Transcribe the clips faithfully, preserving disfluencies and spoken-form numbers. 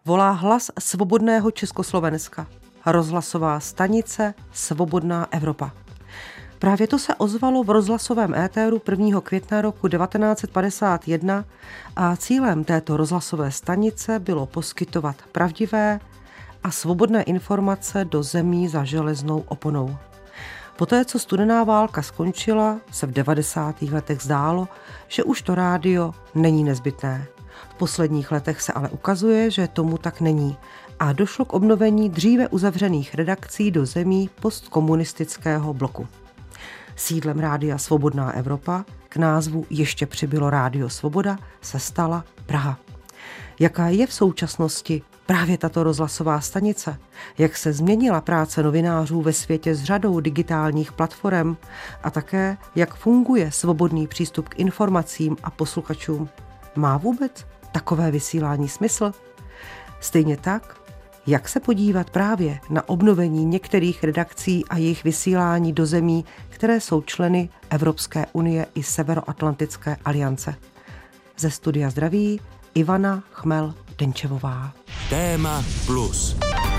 volá hlas svobodného Československa. Rozhlasová stanice Svobodná Evropa. Právě to se ozvalo v rozhlasovém éteru prvního května roku devatenáct set padesát jedna a cílem této rozhlasové stanice bylo poskytovat pravdivé a svobodné informace do zemí za železnou oponou. Poté, co studená válka skončila, se v devadesátých letech zdálo, že už to rádio není nezbytné. V posledních letech se ale ukazuje, že tomu tak není a došlo k obnovení dříve uzavřených redakcí do zemí postkomunistického bloku. Sídlem rádia Svobodná Evropa, k názvu ještě přibylo Rádio Svoboda, se stala Praha. Jaká je v současnosti právě tato rozhlasová stanice? Jak se změnila práce novinářů ve světě s řadou digitálních platform a také jak funguje svobodný přístup k informacím a posluchačům? Má vůbec takové vysílání smysl? Stejně tak, jak se podívat právě na obnovení některých redakcí a jejich vysílání do zemí, které jsou členy Evropské unie i Severoatlantické aliance. Ze studia zdraví Ivana Chmel-Denčevová. Téma plus.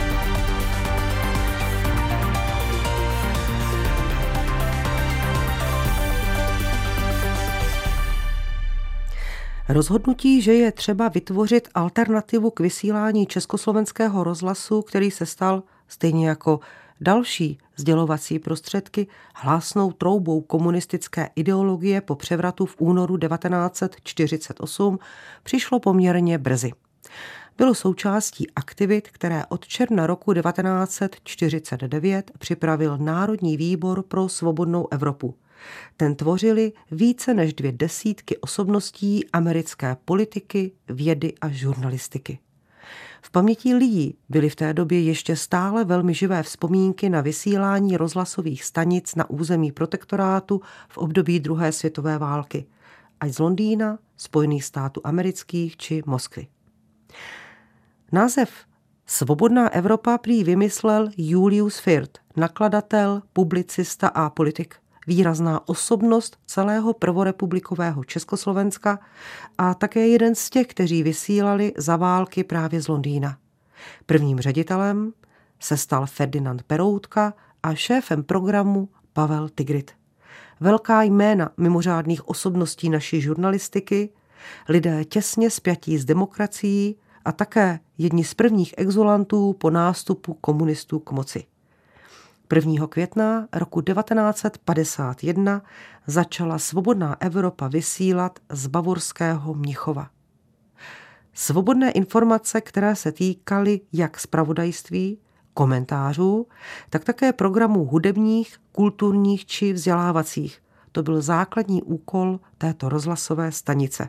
Rozhodnutí, že je třeba vytvořit alternativu k vysílání československého rozhlasu, který se stal, stejně jako další sdělovací prostředky, hlásnou troubou komunistické ideologie po převratu v únoru devatenáct set čtyřicet osm, přišlo poměrně brzy. Bylo součástí aktivit, které od června roku devatenáct set čtyřicet devět připravil Národní výbor pro svobodnou Evropu. Ten tvořili více než dvě desítky osobností americké politiky, vědy a žurnalistiky. V paměti lidí byly v té době ještě stále velmi živé vzpomínky na vysílání rozhlasových stanic na území protektorátu v období druhé světové války, ať z Londýna, Spojených států amerických či Moskvy. Název Svobodná Evropa prý vymyslel Julius Firth, nakladatel, publicista a politik. Výrazná osobnost celého prvorepublikového Československa a také jeden z těch, kteří vysílali za války právě z Londýna. Prvním ředitelem se stal Ferdinand Peroutka a šéfem programu Pavel Tigrit. Velká jména mimořádných osobností naší žurnalistiky, lidé těsně spjatí s demokracií a také jedni z prvních exulantů po nástupu komunistů k moci. prvního května roku devatenáct set padesát jedna začala Svobodná Evropa vysílat z bavorského Mnichova. Svobodné informace, které se týkaly jak zpravodajství, komentářů, tak také programů hudebních, kulturních či vzdělávacích. To byl základní úkol této rozhlasové stanice.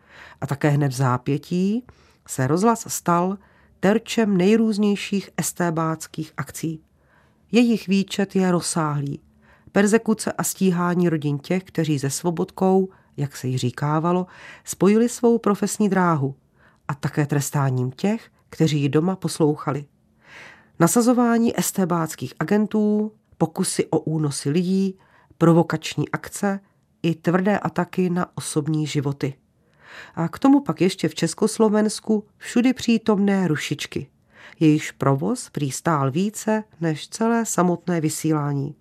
A také hned v zápětí se rozhlas stal terčem nejrůznějších estébáckých akcí. Jejich výčet je rozsáhlý. Perzekuce a stíhání rodin těch, kteří se svobodkou, jak se jí říkávalo, spojili svou profesní dráhu a také trestáním těch, kteří ji doma poslouchali. Nasazování estébáckých agentů, pokusy o únosy lidí, provokační akce i tvrdé ataky na osobní životy. A k tomu pak ještě v Československu všudy přítomné rušičky. Jejichž provoz prý stál více než celé samotné vysílání.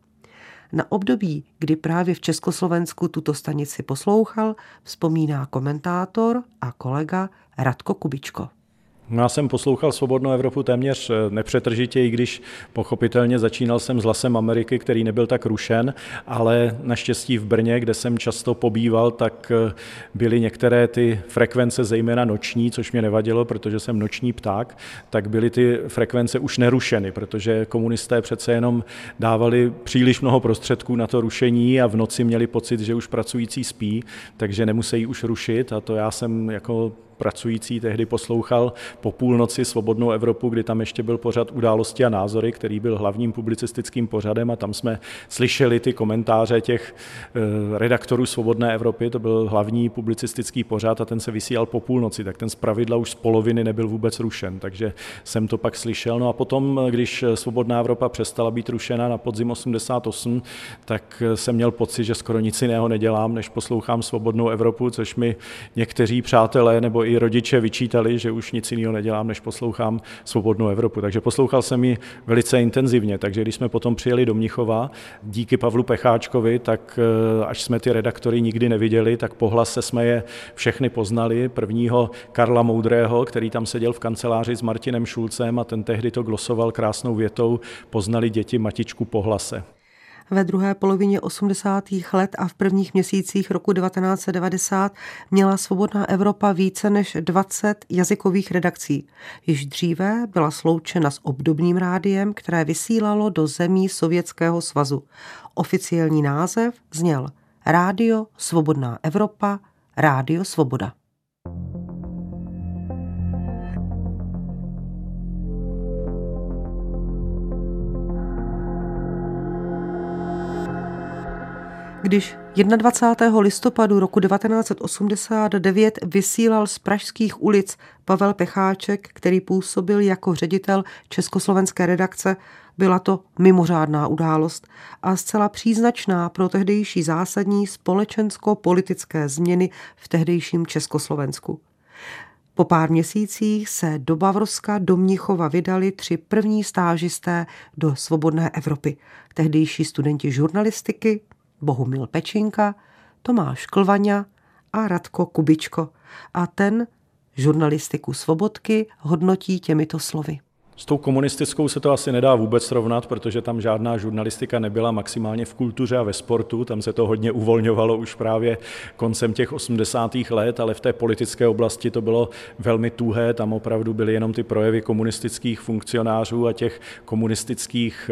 Na období, kdy právě v Československu tuto stanici poslouchal, vzpomíná komentátor a kolega Radko Kubičko. No, já jsem poslouchal Svobodnou Evropu téměř nepřetržitě, i když pochopitelně začínal jsem s Hlasem Ameriky, který nebyl tak rušen, ale naštěstí v Brně, kde jsem často pobýval, tak byly některé ty frekvence, zejména noční, což mě nevadilo, protože jsem noční pták, tak byly ty frekvence už nerušeny, protože komunisté přece jenom dávali příliš mnoho prostředků na to rušení a v noci měli pocit, že už pracující spí, takže nemusí už rušit, a to já jsem jako pracující tehdy poslouchal po půlnoci Svobodnou Evropu, kdy tam ještě byl pořad Události a názory, který byl hlavním publicistickým pořadem, a tam jsme slyšeli ty komentáře těch redaktorů Svobodné Evropy, to byl hlavní publicistický pořad a ten se vysílal po půlnoci, tak ten zpravidla už z poloviny nebyl vůbec rušen, takže jsem to pak slyšel. No a potom, když Svobodná Evropa přestala být rušena na podzim osmdesát osm, tak jsem měl pocit, že skoro nic jiného nedělám, než poslouchám Svobodnou Evropu, což mi někteří přátelé nebo i rodiče vyčítali, že už nic jiného nedělám, než poslouchám Svobodnou Evropu. Takže poslouchal jsem ji velice intenzivně, takže když jsme potom přijeli do Mnichova, díky Pavlu Pecháčkovi, tak až jsme ty redaktory nikdy neviděli, tak po hlase jsme je všechny poznali. Prvního Karla Moudrého, který tam seděl v kanceláři s Martinem Šulcem a ten tehdy to glosoval krásnou větou: poznali děti matičku po hlase. Ve druhé polovině osmdesátých let a v prvních měsících roku devatenáct set devadesát měla Svobodná Evropa více než dvacet jazykových redakcí. Již dříve byla sloučena s obdobným rádiem, které vysílalo do zemí Sovětského svazu. Oficiální název zněl Rádio Svobodná Evropa, Rádio Svoboda. Když dvacátého prvního listopadu roku devatenáct set osmdesát devět vysílal z pražských ulic Pavel Pecháček, který působil jako ředitel československé redakce, byla to mimořádná událost a zcela příznačná pro tehdejší zásadní společensko-politické změny v tehdejším Československu. Po pár měsících se do Bavorska do Mnichova vydali tři první stážisté do Svobodné Evropy. Tehdejší studenti žurnalistiky Bohumil Pečinka, Tomáš Klvaňa a Radko Kubičko. A ten žurnalistiku Svobodky hodnotí těmito slovy. S tou komunistickou se to asi nedá vůbec srovnat, protože tam žádná žurnalistika nebyla, maximálně v kultuře a ve sportu. Tam se to hodně uvolňovalo už právě koncem těch osmdesátých let, ale v té politické oblasti to bylo velmi tuhé. Tam opravdu byly jenom ty projevy komunistických funkcionářů a těch komunistických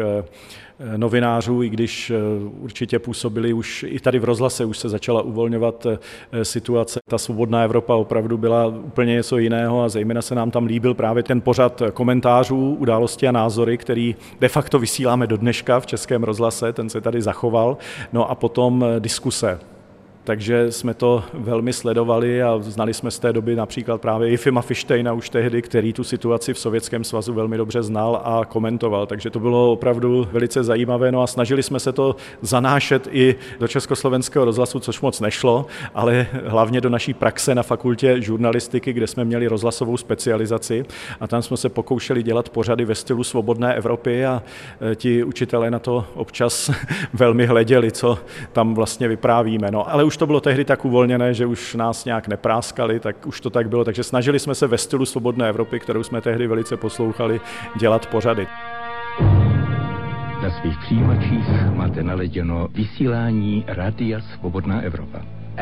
novinářů, i když určitě působili už i tady v rozhlase, už se začala uvolňovat situace. Ta Svobodná Evropa opravdu byla úplně něco jiného a zejména se nám tam líbil právě ten pořad komentářů, události a názory, který de facto vysíláme do dneška v Českém rozhlase, ten se tady zachoval, no a potom diskuse. Takže jsme to velmi sledovali a znali jsme z té doby například právě Jifima Fištejna už tehdy, který tu situaci v Sovětském svazu velmi dobře znal a komentoval. Takže to bylo opravdu velice zajímavé. No a snažili jsme se to zanášet i do Československého rozhlasu, což moc nešlo, ale hlavně do naší praxe na fakultě žurnalistiky, kde jsme měli rozhlasovou specializaci a tam jsme se pokoušeli dělat pořady ve stylu Svobodné Evropy a ti učitelé na to občas velmi hleděli, co tam vlastně vyprávíme. No, ale už to bylo tehdy tak uvolněné, že už nás nějak nepráskali, tak už to tak bylo. Takže snažili jsme se ve stylu Svobodné Evropy, kterou jsme tehdy velice poslouchali, dělat pořady. Na svých přijímačích máte naleděno vysílání Rádia Svobodná Evropa.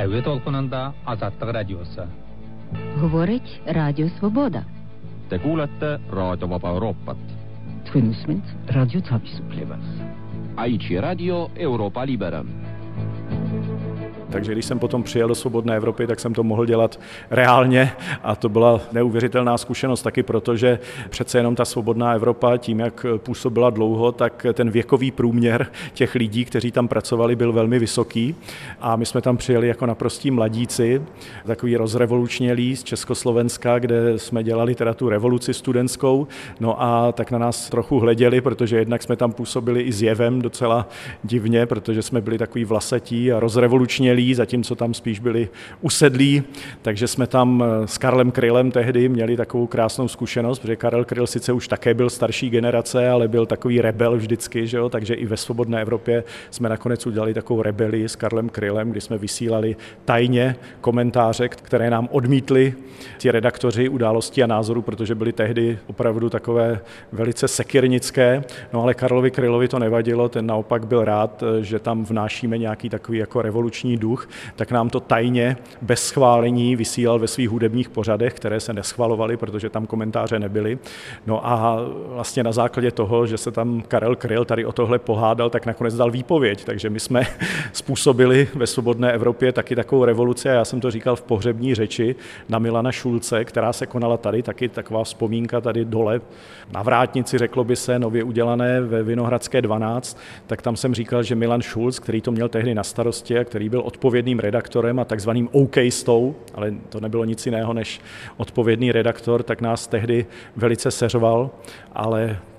Говорить Радіо Свобода. Te kuulete Raadio Vaba Euroopat. Twinusment Radio Tapisuplevas. Aici Radio Europa Libera. Takže když jsem potom přijel do Svobodné Evropy, tak jsem to mohl dělat reálně a to byla neuvěřitelná zkušenost taky proto, že přece jenom ta Svobodná Evropa, tím jak působila dlouho, tak ten věkový průměr těch lidí, kteří tam pracovali, byl velmi vysoký a my jsme tam přijeli jako naprostí mladíci, takový rozrevolučnělí z Československa, kde jsme dělali teda tu revoluci studentskou, no a tak na nás trochu hleděli, protože jednak jsme tam působili i s jevem docela divně, protože jsme byli takový vlasatí a rozrevolučnělí, zatímco tam spíš byli usedlí, takže jsme tam s Karlem Krylem tehdy měli takovou krásnou zkušenost, protože Karel Kryl sice už také byl starší generace, ale byl takový rebel vždycky, že jo? Takže i ve Svobodné Evropě jsme nakonec udělali takovou rebelii s Karlem Krylem, kdy jsme vysílali tajně komentáře, které nám odmítli ti redaktoři Události a názoru, protože byly tehdy opravdu takové velice sekirnické, no ale Karlovi Krylovi to nevadilo, ten naopak byl rád, že tam vnášíme nějaký takový jako revoluční duch, tak nám to tajně, bez schválení vysílal ve svých hudebních pořadech, které se neschvalovaly, protože tam komentáře nebyly. No a vlastně na základě toho, že se tam Karel Kryl tady o tohle pohádal, tak nakonec dal výpověď. Takže my jsme způsobili ve Svobodné Evropě taky takovou revoluci a já jsem to říkal v pohřební řeči na Milana Šulce, která se konala tady, taky taková vzpomínka tady dole na Vrátnici, řeklo by se, nově udělané ve Vinohradské dvanáct, tak tam jsem říkal, že Milan Šulc, který to měl tehdy na starosti a který byl odpovědným redaktorem a takzvaným OK-stou, ale to nebylo nic jiného než odpovědný redaktor, tak nás tehdy velice seřval, ale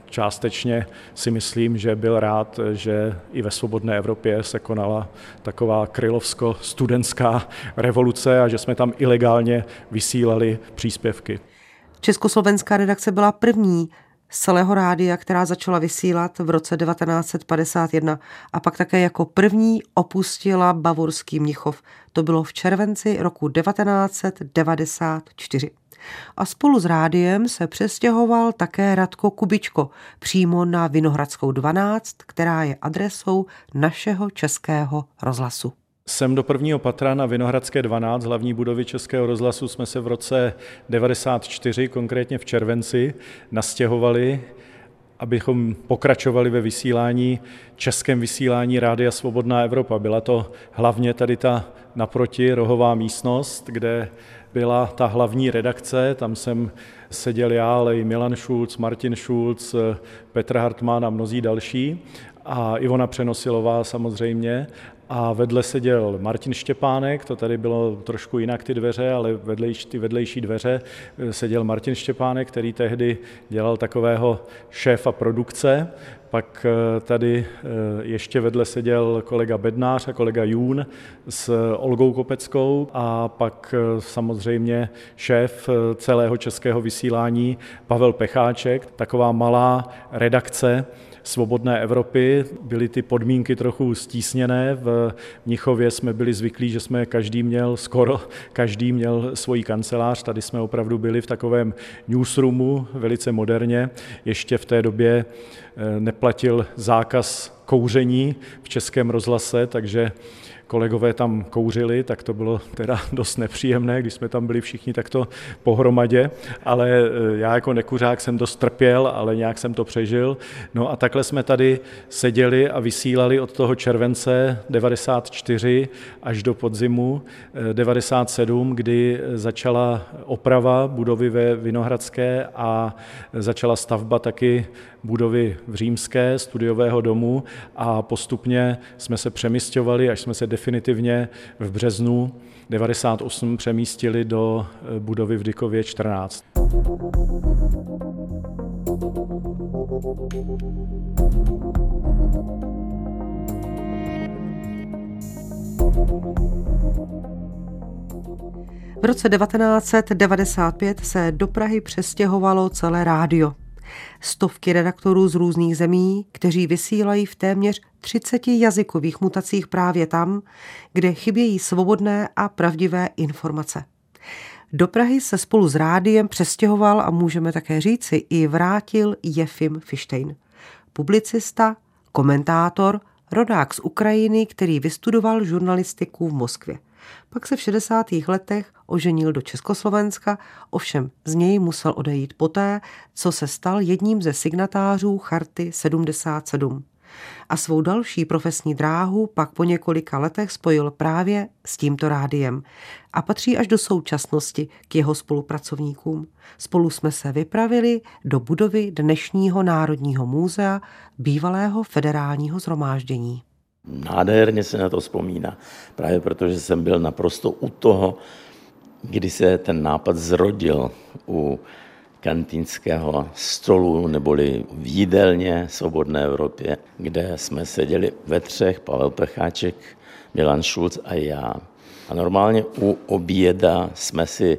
částečně si myslím, že byl rád, že i ve svobodné Evropě se konala taková krylovsko-studentská revoluce a že jsme tam ilegálně vysílali příspěvky. Československá redakce byla první z celého rádia, která začala vysílat v roce devatenáct set padesát jedna a pak také jako první opustila bavorský Mnichov. To bylo v červenci roku devatenáct set devadesát čtyři. A spolu s rádiem se přestěhoval také Radko Kubičko přímo na Vinohradskou dvanáct, která je adresou našeho Českého rozhlasu. Sem do prvního patra na Vinohradské dvanáct, hlavní budovy Českého rozhlasu, jsme se v roce devadesát čtyři, konkrétně v červenci, nastěhovali, abychom pokračovali ve vysílání, českém vysílání Rádia Svobodná Evropa. Byla to hlavně tady ta naproti rohová místnost, kde byla ta hlavní redakce, tam jsem seděl já, ale i Milan Šulc, Martin Šulc, Petr Hartmann a mnozí další a Ivona Přenosilová samozřejmě. A vedle seděl Martin Štěpánek, to tady bylo trošku jinak ty dveře, ale vedlejší, ty vedlejší dveře seděl Martin Štěpánek, který tehdy dělal takového šéfa produkce. Pak tady ještě vedle seděl kolega Bednář a kolega Jún s Olgou Kopeckou a pak samozřejmě šéf celého českého vysílání Pavel Pecháček, taková malá redakce Svobodné Evropy. Byly ty podmínky trochu stísněné. V Mnichově jsme byli zvyklí, že jsme každý měl, skoro každý měl svoji kancelář. Tady jsme opravdu byli v takovém newsroomu, velice moderně. Ještě v té době neplatil zákaz kouření v Českém rozhlase, takže kolegové tam kouřili, tak to bylo teda dost nepříjemné, když jsme tam byli všichni takto pohromadě, ale já jako nekuřák jsem dost trpěl, ale nějak jsem to přežil. No a takhle jsme tady seděli a vysílali od toho července devadesát čtyři až do podzimu devadesát sedm, kdy začala oprava budovy ve Vinohradské a začala stavba taky budovy v Římské, studiového domu a postupně jsme se přemisťovali, až jsme se definitivně v březnu devadesát osm přemístili do budovy v Dykově čtrnáct. V roce devatenáct set devadesát pět se do Prahy přestěhovalo celé rádio. Stovky redaktorů z různých zemí, kteří vysílají v téměř třiceti jazykových mutacích právě tam, kde chybějí svobodné a pravdivé informace. Do Prahy se spolu s rádiem přestěhoval a můžeme také říci i vrátil Jefim Fištejn. Publicista, komentátor, rodák z Ukrajiny, který vystudoval žurnalistiku v Moskvě. Pak se v šedesátých letech oženil do Československa, ovšem z něj musel odejít poté, co se stal jedním ze signatářů Charty sedmdesát sedm. A svou další profesní dráhu pak po několika letech spojil právě s tímto rádiem a patří až do současnosti k jeho spolupracovníkům. Spolu jsme se vypravili do budovy dnešního Národního muzea, bývalého federálního shromáždění. Nádherně se na to vzpomíná, právě protože jsem byl naprosto u toho, kdy se ten nápad zrodil u kantýnského stolu neboli v jídelně Svobodné Evropě, kde jsme seděli ve třech, Pavel Pecháček, Milan Šulc a já. A normálně u oběda jsme si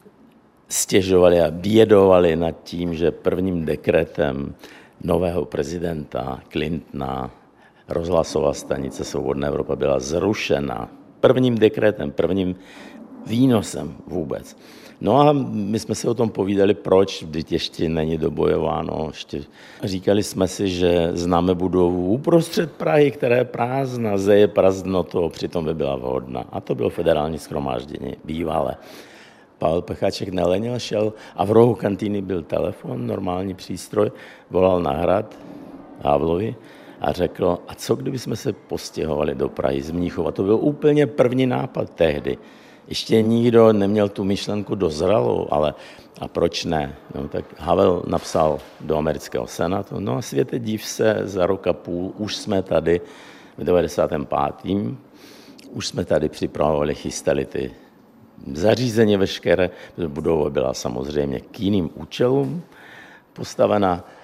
stěžovali a bědovali nad tím, že prvním dekretem nového prezidenta Clintona rozhlasová stanice Svobodná Evropa byla zrušena. Prvním dekretem, prvním výnosem vůbec. No a my jsme si o tom povídali, proč, vždyť ještě není dobojováno. Ještě. Říkali jsme si, že známe budovu uprostřed Prahy, která je prázdná, zeje prazdnotou, přitom by byla vhodná. A to bylo federální shromáždění, bývalé. Pavel Pecháček nelenil, šel a v rohu kantýny byl telefon, normální přístroj, volal na Hrad Havlovi a řekl, a co kdyby jsme se postěhovali do Prahy z Mnichova. To byl úplně první nápad tehdy. Ještě nikdo neměl tu myšlenku dozralou, ale a proč ne? No, tak Havel napsal do amerického senátu, no a světe div se, za rok a půl už jsme tady v devadesátém pátém už jsme tady připravovali, chystali ty zařízení veškeré, budova byla samozřejmě k jiným účelům postavena.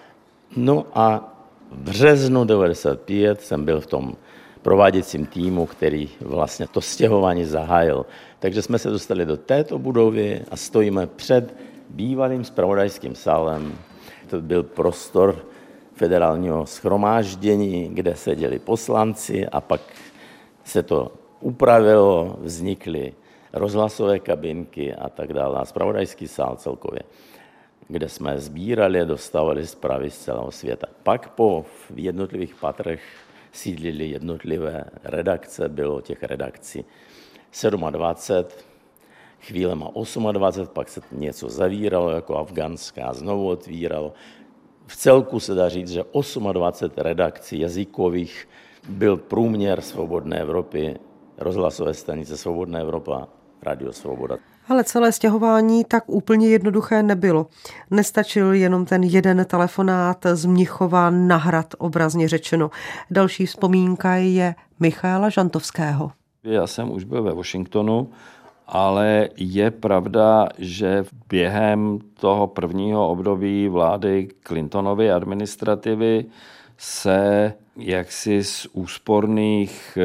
No a v březnu devadesát pět jsem byl v tom prováděcím týmu, který vlastně to stěhování zahájil. Takže jsme se dostali do této budovy a stojíme před bývalým zpravodajským sálem. To byl prostor federálního shromáždění, kde seděli poslanci a pak se to upravilo, vznikly rozhlasové kabinky a tak dále. A zpravodajský sál celkově, kde jsme sbírali a dostávali zprávy z celého světa. Pak po jednotlivých patrech sídlili jednotlivé redakce, bylo těch redakcí dvacet sedm, chvílema dvacet osm, pak se něco zavíralo jako afgánská, znovu otvíralo. V celku se dá říct, že dvacet osm redakcí jazykových byl průměr Svobodné Evropy, rozhlasové stanice Svobodná Evropa, Radio Svoboda. Ale celé stěhování tak úplně jednoduché nebylo. Nestačil jenom ten jeden telefonát z Mnichova na Hrad, obrazně řečeno. Další vzpomínka je Michaela Žantovského. Já jsem už byl ve Washingtonu, ale je pravda, že během toho prvního období vlády Clintonovy administrativy se jaksi z úsporných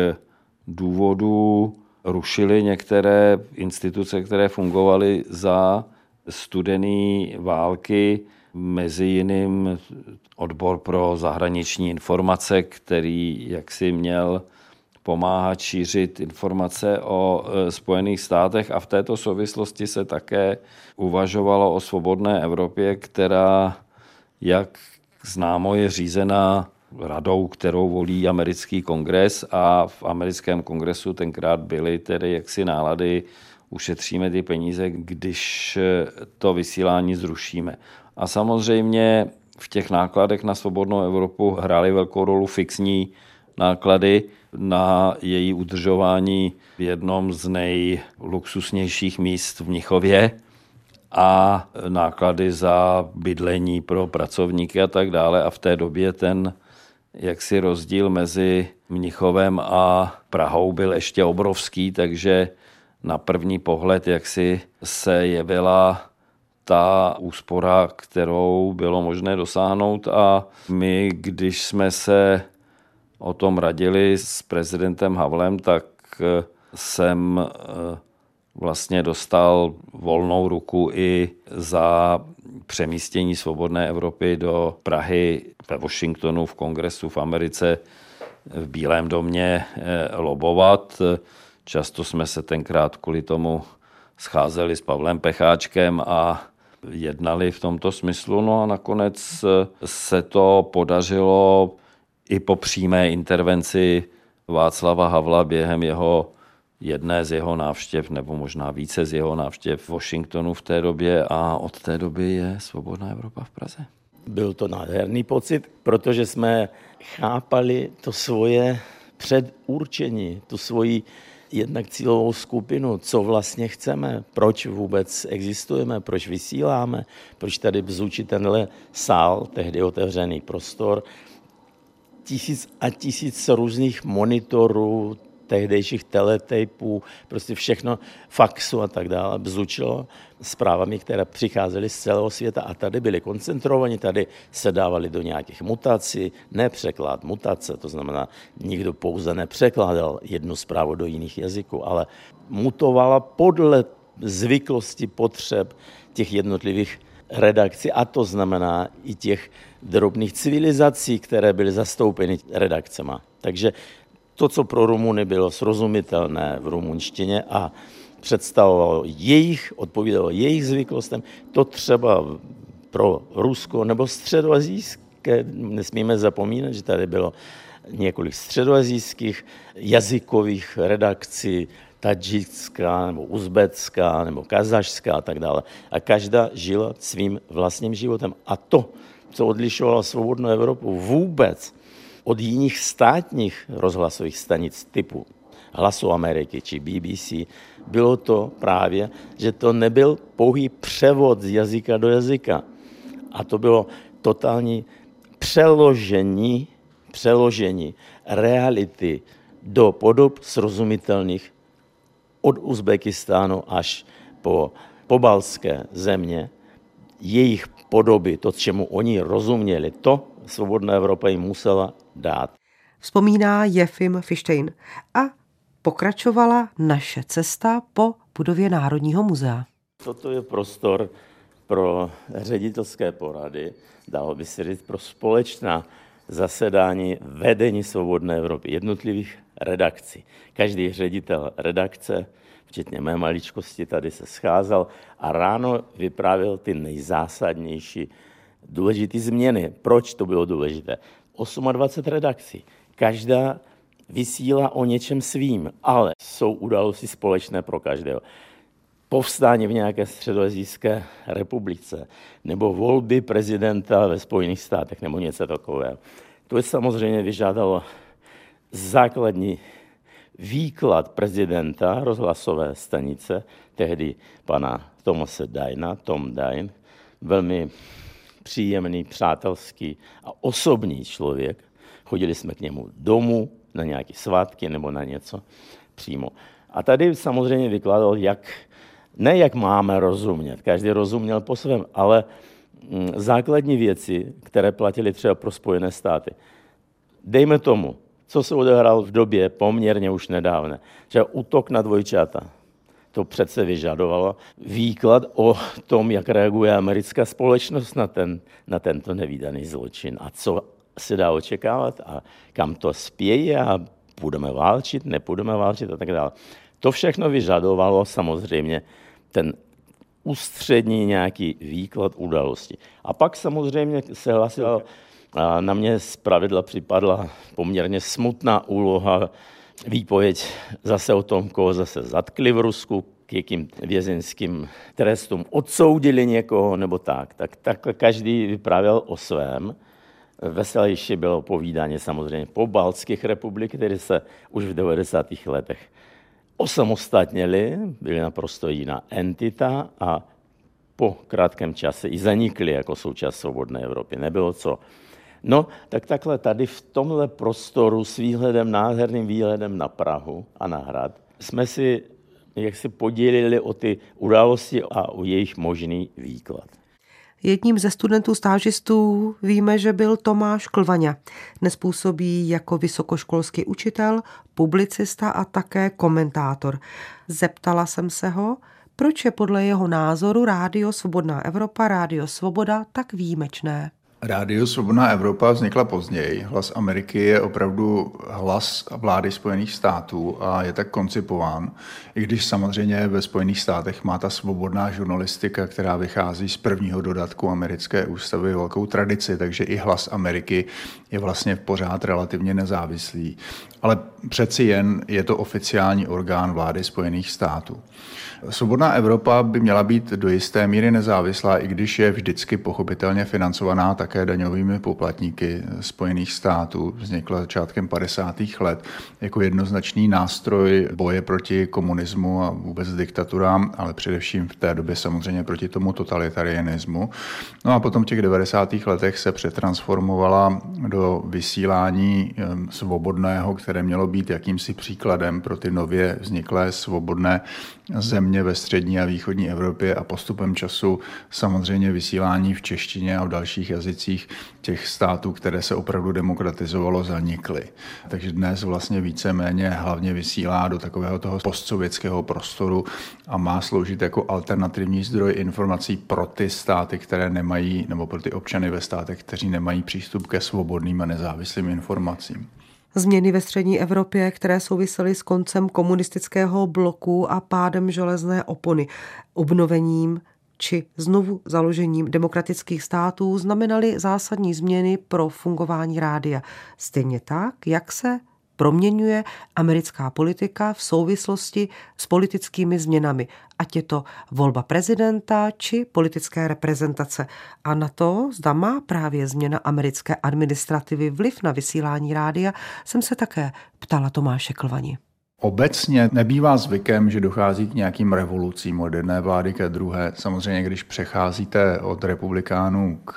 důvodů rušily některé instituce, které fungovaly za studené války, mezi jiným odbor pro zahraniční informace, který jaksi měl pomáhat šířit informace o Spojených státech, a v této souvislosti se také uvažovalo o svobodné Evropě, která, jak známo, je řízená radou, kterou volí americký kongres, a v americkém kongresu tenkrát byly tedy jaksi nálady, ušetříme ty peníze, když to vysílání zrušíme. A samozřejmě v těch nákladech na svobodnou Evropu hrály velkou roli fixní náklady na její udržování v jednom z nejluxusnějších míst v Mnichově a náklady za bydlení pro pracovníky a tak dále. A v té době ten jaksi rozdíl mezi Mnichovem a Prahou byl ještě obrovský, takže na první pohled jaksi se jevila ta úspora, kterou bylo možné dosáhnout, a my, když jsme se o tom radili s prezidentem Havlem, tak jsem vlastně dostal volnou ruku i za přemístění Svobodné Evropy do Prahy, ve Washingtonu, v kongresu, v Americe, v Bílém domě lobovat. Často jsme se tenkrát kvůli tomu scházeli s Pavlem Pecháčkem a jednali v tomto smyslu. No a nakonec se to podařilo i po přímé intervenci Václava Havla během jeho jedné z jeho návštěv, nebo možná více z jeho návštěv v Washingtonu v té době, a od té doby je Svobodná Evropa v Praze. Byl to nádherný pocit, protože jsme chápali to svoje předurčení, tu svoji jednak cílovou skupinu, co vlastně chceme, proč vůbec existujeme, proč vysíláme, proč tady bzučí tenhle sál, tehdy otevřený prostor, tisíc a tisíc různých monitorů, tehdejších teletejpů, prostě všechno, faxu a tak dále, bzučilo zprávami, které přicházely z celého světa a tady byly koncentrovaní, tady se dávali do nějakých mutací, nepřeklad, mutace, to znamená, nikdo pouze nepřekládal jednu zprávu do jiných jazyků, ale mutovala podle zvyklosti, potřeb těch jednotlivých redakcí, a to znamená i těch drobných civilizací, které byly zastoupeny redakcema. Takže to, co pro Rumuny bylo srozumitelné v rumunštině a představovalo jejich, odpovídalo jejich zvyklostem, to třeba pro Rusko nebo středoazijské, nesmíme zapomínat, že tady bylo několik středoazijských jazykových redakcí, tadžická nebo uzbecká nebo kazašská a tak dále. A každá žila svým vlastním životem. A to, co odlišovalo Svobodnou Evropu vůbec od jiných státních rozhlasových stanic typu Hlasu Ameriky či B B C, bylo to právě, že to nebyl pouhý převod z jazyka do jazyka. A to bylo totální přeložení, přeložení reality do podob srozumitelných od Uzbekistánu až po pobaltské země, jejich podoby, to, čemu oni rozuměli, to Svobodná Evropa jim musela dát. Vzpomíná Jefim Fištein a pokračovala naše cesta po budově Národního muzea. Toto je prostor pro ředitelské porady, dalo by se říct pro společná zasedání vedení Svobodné Evropy, jednotlivých redakcí. Každý ředitel redakce, včetně mé maličkosti, tady se scházel a ráno vyprávěl ty nejzásadnější důležité změny. Proč to bylo důležité? dvacet osm redakcí. Každá vysílá o něčem svým, ale jsou události společné pro každého. Povstání v nějaké středoazijské republice nebo volby prezidenta ve Spojených státech nebo něco takového. To je samozřejmě vyžádalo základní výklad prezidenta rozhlasové stanice, tehdy pana Thomase Dyna, Tom Dine, velmi příjemný, přátelský a osobní člověk. Chodili jsme k němu domů na nějaké svátky nebo na něco přímo. A tady samozřejmě vykládal, jak, ne jak máme rozumět, každý rozuměl po svém, ale základní věci, které platily třeba pro Spojené státy. Dejme tomu, co se odehrálo v době poměrně už nedávné, že útok na dvojčata. To přece vyžadovalo výklad o tom, jak reaguje americká společnost na, ten, na tento nevídaný zločin a co se dá očekávat a kam to spěje a budeme válčit, nepůjdeme válčit a tak dále. To všechno vyžadovalo samozřejmě ten ústřední nějaký výklad události. A pak samozřejmě se hlasilo, a na mě zpravidla připadla poměrně smutná úloha, výpověď zase o tom, koho zase zatkli v Rusku, k jakým vězeňským trestům odsoudili někoho nebo tak. Tak, tak každý vyprávěl o svém. Veselější bylo povídání samozřejmě po baltských republik, které se už v devadesátých letech osamostatnili, byly naprosto jiná entita a po krátkém čase i zanikly jako součást Svobodné Evropy. Nebylo co. No, tak takhle tady v tomhle prostoru s výhledem, nádherným výhledem na Prahu a na hrad jsme si jak si podělili o ty události a o jejich možný výklad. Jedním ze studentů stážistů víme, že byl Tomáš Klvaňa. Dnes působí jako vysokoškolský učitel, publicista a také komentátor. Zeptala jsem se ho, proč je podle jeho názoru Rádio Svobodná Evropa, Rádio Svoboda tak výjimečné. Rádio Svobodná Evropa vznikla později. Hlas Ameriky je opravdu hlas vlády Spojených států a je tak koncipován. I když samozřejmě ve Spojených státech má ta svobodná žurnalistika, která vychází z prvního dodatku americké ústavy, velkou tradici, takže i hlas Ameriky je vlastně pořád relativně nezávislý. Ale přeci jen je to oficiální orgán vlády Spojených států. Svobodná Evropa by měla být do jisté míry nezávislá, i když je vždycky pochopitelně financovaná také daňovými poplatníky Spojených států. Vznikla začátkem padesátých let jako jednoznačný nástroj boje proti komunismu a vůbec diktaturám, ale především v té době samozřejmě proti tomu totalitarianismu. No a potom v těch devadesátých letech se přetransformovala do vysílání svobodného, které mělo být jakýmsi příkladem pro ty nově vzniklé svobodné země ve střední a východní Evropě a postupem času samozřejmě vysílání v češtině a v dalších jazycích těch států, které se opravdu demokratizovalo, zanikly. Takže dnes vlastně víceméně hlavně vysílá do takového toho postsovětského prostoru a má sloužit jako alternativní zdroj informací pro ty státy, které nemají, nebo pro ty občany ve státech, kteří nemají přístup ke svobodným a nezávislým informacím. Změny ve střední Evropě, které souvisely s koncem komunistického bloku a pádem železné opony, obnovením či znovu založením demokratických států, znamenaly zásadní změny pro fungování rádia. Stejně tak, jak se proměňuje americká politika v souvislosti s politickými změnami, ať je to volba prezidenta či politické reprezentace. A na to, zda má právě změna americké administrativy vliv na vysílání rádia, jsem se také ptala Tomáše Klvani. Obecně nebývá zvykem, že dochází k nějakým revolucím od jedné vlády ke druhé. Samozřejmě, když přecházíte od republikánů k,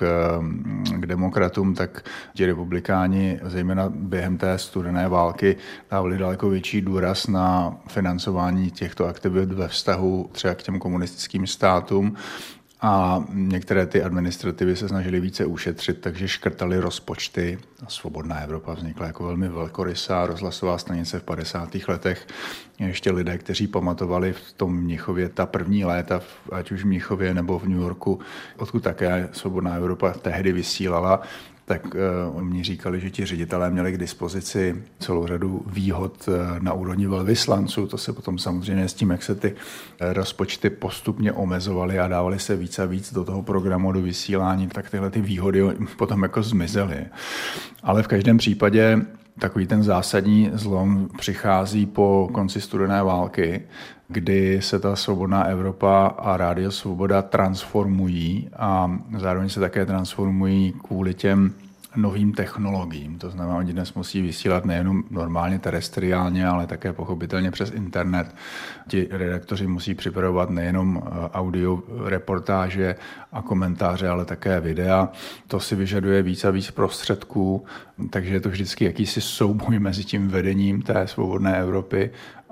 k demokratům, tak ti republikáni, zejména během té studené války, dávali daleko větší důraz na financování těchto aktivit ve vztahu třeba k těm komunistickým státům. a některé ty administrativy se snažily více ušetřit, takže škrtali rozpočty. Svobodná Evropa vznikla jako velmi velkorysá rozhlasová stanice v padesátých letech. Ještě lidé, kteří pamatovali v tom Mnichově ta první léta, ať už v Mnichově nebo v New Yorku, odkud také Svobodná Evropa tehdy vysílala, tak uh, oni říkali, že ti ředitelé měli k dispozici celou řadu výhod uh, na úrovni velvyslanců. To se potom samozřejmě s tím, jak se ty uh, rozpočty postupně omezovaly a dávaly se víc a víc do toho programu, do vysílání, tak tyhle ty výhody potom jako zmizely. Ale v každém případě takový ten zásadní zlom přichází po konci studené války, kdy se ta Svobodná Evropa a Rádio Svoboda transformují a zároveň se také transformují kvůli těm novým technologiím. To znamená, oni dnes musí vysílat nejenom normálně terestriálně, ale také pochopitelně přes internet. Ti redaktoři musí připravovat nejenom audio reportáže a komentáře, ale také videa. To si vyžaduje víc a víc prostředků, takže je to vždycky jakýsi souboj mezi tím vedením té Svobodné Evropy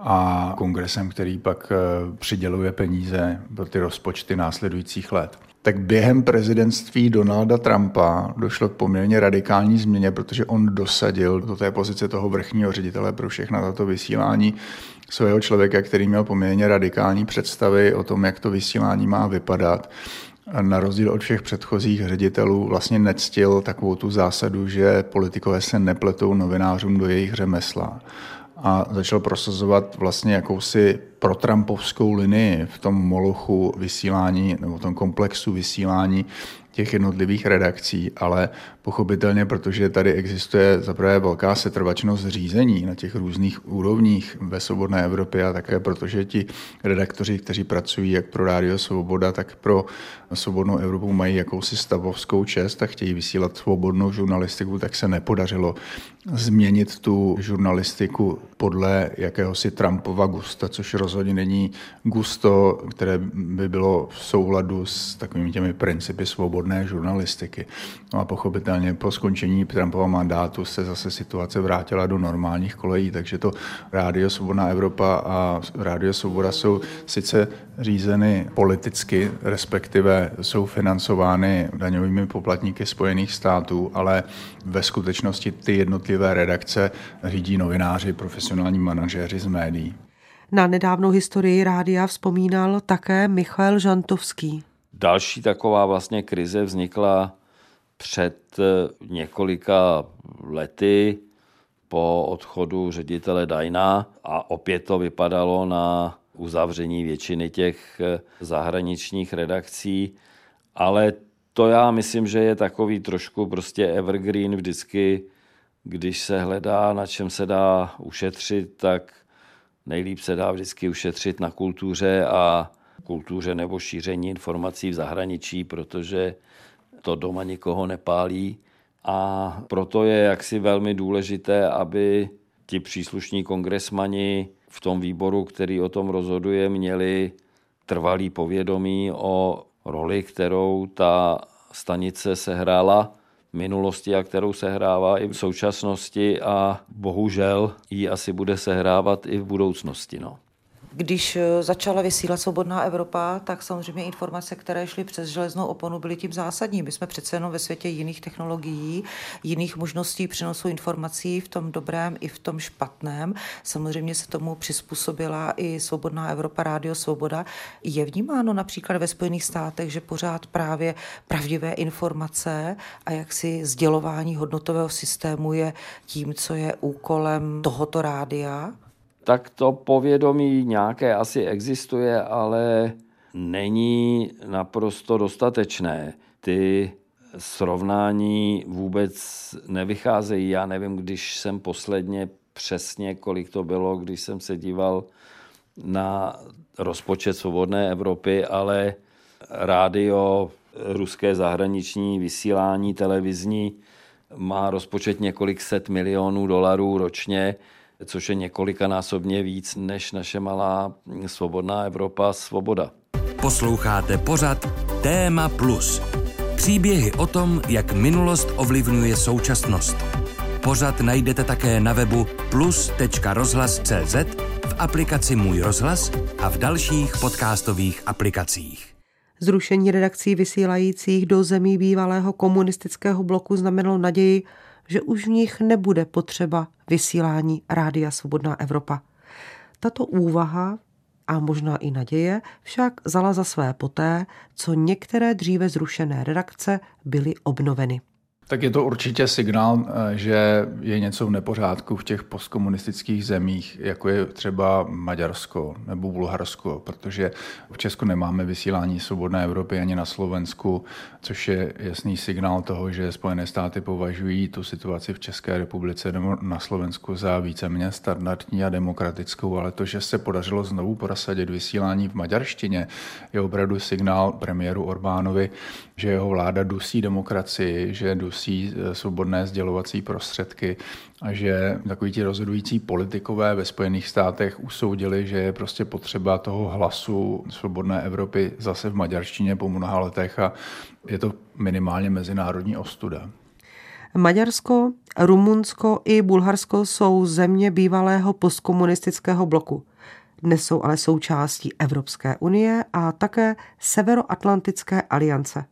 a kongresem, který pak přiděluje peníze pro ty rozpočty následujících let. Tak během prezidentství Donalda Trumpa došlo k poměrně radikální změně, protože on dosadil do té pozice toho vrchního ředitele pro všechna tato vysílání svého člověka, který měl poměrně radikální představy o tom, jak to vysílání má vypadat. A na rozdíl od všech předchozích ředitelů vlastně nectil takovou tu zásadu, že politikové se nepletou novinářům do jejich řemesla. A začal prosazovat vlastně jakousi protrampovskou linii v tom molochu vysílání nebo v tom komplexu vysílání těch jednotlivých redakcí, ale pochopitelně, protože tady existuje zaprvé velká setrvačnost řízení na těch různých úrovních ve Svobodné Evropě a také protože ti redaktoři, kteří pracují jak pro Rádio Svoboda, tak pro Svobodnou Evropu mají jakousi stavovskou čest a chtějí vysílat svobodnou žurnalistiku, tak se nepodařilo změnit tu žurnalistiku podle jakéhosi Trumpova gusta, což rozhodně není gusto, které by bylo v souladu s takovými těmi principy svobodné žurnalistiky. No a pochopitelně po skončení Trumpova mandátu se zase situace vrátila do normálních kolejí, takže to Rádio Svobodná Evropa a Rádio Svoboda jsou sice řízeny politicky, respektive jsou financovány daňovými poplatníky Spojených států, ale ve skutečnosti ty jednotlivé redakce řídí novináři, profesionální manažéři z médií. Na nedávnou historii rádia vzpomínal také Michal Žantovský. Další taková vlastně krize vznikla před několika lety po odchodu ředitele Dajna a opět to vypadalo na uzavření většiny těch zahraničních redakcí, ale to já myslím, že je takový trošku prostě evergreen vždycky, když se hledá, na čem se dá ušetřit, tak nejlíp se dá vždycky ušetřit na kultuře a kultuře nebo šíření informací v zahraničí, protože to doma nikoho nepálí. A proto je jaksi velmi důležité, aby ti příslušní kongresmani v tom výboru, který o tom rozhoduje, měli trvalý povědomí o roli, kterou ta stanice sehrála v minulosti a kterou sehrává i v současnosti a bohužel ji asi bude sehrávat i v budoucnosti. No. Když začala vysílat Svobodná Evropa, tak samozřejmě informace, které šly přes železnou oponu, byly tím zásadní. My jsme přece jenom ve světě jiných technologií, jiných možností přenosu informací v tom dobrém i v tom špatném. Samozřejmě se tomu přizpůsobila i Svobodná Evropa, Rádio Svoboda. Je vnímáno například ve Spojených státech, že pořád právě pravdivé informace a jaksi sdělování hodnotového systému je tím, co je úkolem tohoto rádia? Tak to povědomí nějaké asi existuje, ale není naprosto dostatečné. Ty srovnání vůbec nevycházejí. Já nevím, když jsem posledně přesně, kolik to bylo, když jsem se díval na rozpočet Svobodné Evropy, ale rádio, ruské zahraniční vysílání televizní má rozpočet několik set milionů dolarů ročně, což je několikanásobně víc než naše malá Svobodná Evropa Svoboda. Posloucháte pořad Téma Plus. Příběhy o tom, jak minulost ovlivňuje současnost. Pořad najdete také na webu plus tečka rozhlas tečka cé zet, v aplikaci Můj rozhlas a v dalších podcastových aplikacích. Zrušení redakcí vysílajících do zemí bývalého komunistického bloku znamenalo naději, že už v nich nebude potřeba vysílání Rádia Svobodná Evropa. Tato úvaha a možná i naděje však vzala za své poté, co některé dříve zrušené redakce byly obnoveny. Tak je to určitě signál, že je něco v nepořádku v těch postkomunistických zemích, jako je třeba Maďarsko nebo Bulharsko, protože v Česku nemáme vysílání Svobodné Evropy ani na Slovensku, což je jasný signál toho, že Spojené státy považují tu situaci v České republice nebo na Slovensku za víceméně standardní a demokratickou, ale to, že se podařilo znovu prosadit vysílání v maďarštině, je opravdu signál premiéru Orbánovi, že jeho vláda dusí demokracii, že dusí svobodné sdělovací prostředky a že takoví ti rozhodující politikové ve Spojených státech usoudili, že je prostě potřeba toho hlasu Svobodné Evropy zase v maďarštině po mnoha letech a je to minimálně mezinárodní ostuda. Maďarsko, Rumunsko i Bulharsko jsou země bývalého postkomunistického bloku. Dnes jsou ale součástí Evropské unie a také Severoatlantické aliance.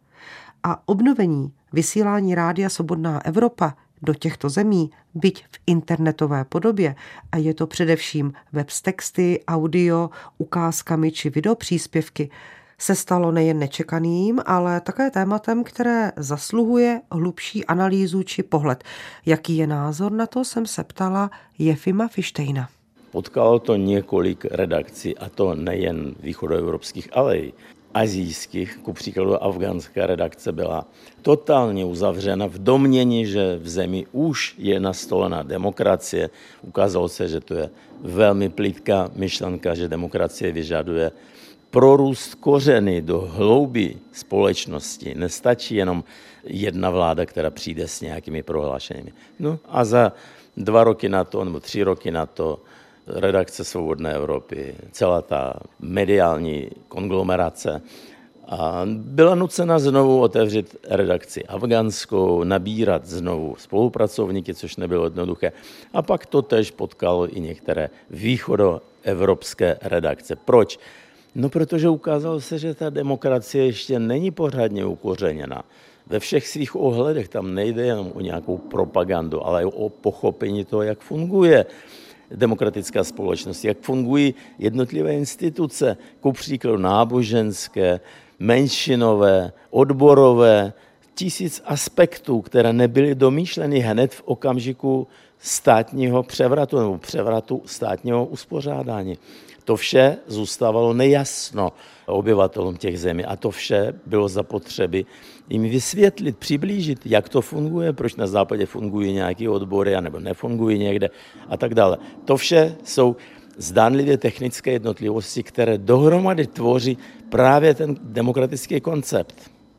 A obnovení vysílání Rádia Svobodná Evropa do těchto zemí, byť v internetové podobě, a je to především web s texty, audio, ukázkami či videopříspěvky, se stalo nejen nečekaným, ale také tématem, které zasluhuje hlubší analýzu či pohled. Jaký je názor na to, jsem se ptala Jefima Fištejna. Potkalo to několik redakcí, a to nejen východoevropských, ale i azijských, ku příkladu afgánská redakce byla totálně uzavřena v domnění, že v zemi už je nastolena demokracie. Ukázalo se, že to je velmi plitká myšlenka, že demokracie vyžaduje prorůst kořeny do hloubi společnosti. Nestačí jenom jedna vláda, která přijde s nějakými prohlášeními. No a za dva roky na to, nebo tři roky na to, redakce Svobodné Evropy, celá ta mediální konglomerace a byla nucena znovu otevřít redakci afgánskou, nabírat znovu spolupracovníky, což nebylo jednoduché. A pak to tež potkalo i některé východoevropské redakce. Proč? No, protože ukázalo se, že ta demokracie ještě není pořádně ukořeněna. Ve všech svých ohledech tam nejde jenom o nějakou propagandu, ale o pochopení toho, jak funguje demokratická společnost, jak fungují jednotlivé instituce, ku příkladu náboženské, menšinové, odborové, tisíc aspektů, které nebyly domýšleny hned v okamžiku státního převratu nebo převratu státního uspořádání. To vše zůstávalo nejasno obyvatelům těch zemí a to vše bylo zapotřebí jim vysvětlit, přiblížit, jak to funguje, proč na západě fungují nějaké odbory, nebo nefungují někde a tak dále. To vše jsou zdánlivě technické jednotlivosti, které dohromady tvoří právě ten demokratický koncept.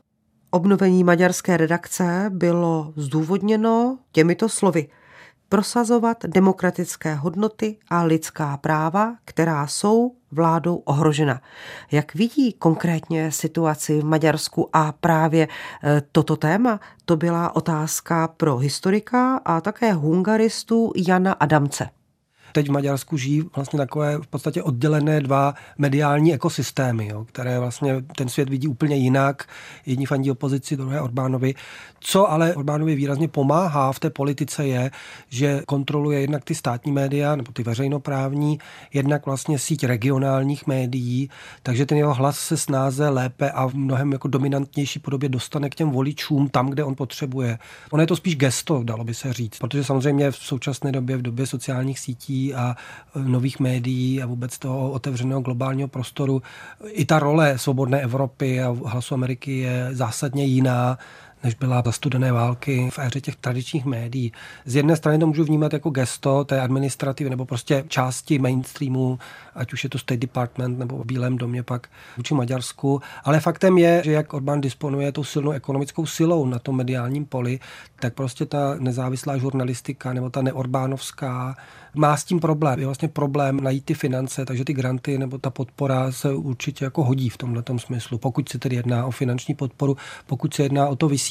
Obnovení maďarské redakce bylo zdůvodněno těmito slovy: prosazovat demokratické hodnoty a lidská práva, která jsou vládou ohrožena. Jak vidí konkrétně situaci v Maďarsku a právě toto téma, to byla otázka pro historika a také hungaristu Jana Adamce. Teď v Maďarsku žijí vlastně takové v podstatě oddělené dva mediální ekosystémy, jo, které vlastně ten svět vidí úplně jinak. Jedni fandí opozici, druhé Orbánovi. Co ale Orbánovi výrazně pomáhá v té politice je, že kontroluje jednak ty státní média, nebo ty veřejnoprávní, jednak vlastně síť regionálních médií, takže ten jeho hlas se snáze lépe a v mnohem jako dominantnější podobě dostane k těm voličům tam, kde on potřebuje. Ono je to spíš gesto, dalo by se říct, protože samozřejmě v současné době, v době sociálních sítí a nových médií a vůbec toho otevřeného globálního prostoru i ta role Svobodné Evropy a Hlasu Ameriky je zásadně jiná, než byla za studené války v éře těch tradičních médií. Z jedné strany to můžu vnímat jako gesto té administrativy nebo prostě části mainstreamu, ať už je to State Department nebo v Bílém domě pak vůči Maďarsku, ale faktem je, že jak Orbán disponuje tou silnou ekonomickou silou na tom mediálním poli, tak prostě ta nezávislá žurnalistika nebo ta neorbánovská má s tím problém. Je vlastně problém najít ty finance, takže ty granty nebo ta podpora se určitě jako hodí v tomhletom smyslu. Pokud se tedy jedná o finanční podporu, pokud se jedná o to vysílání,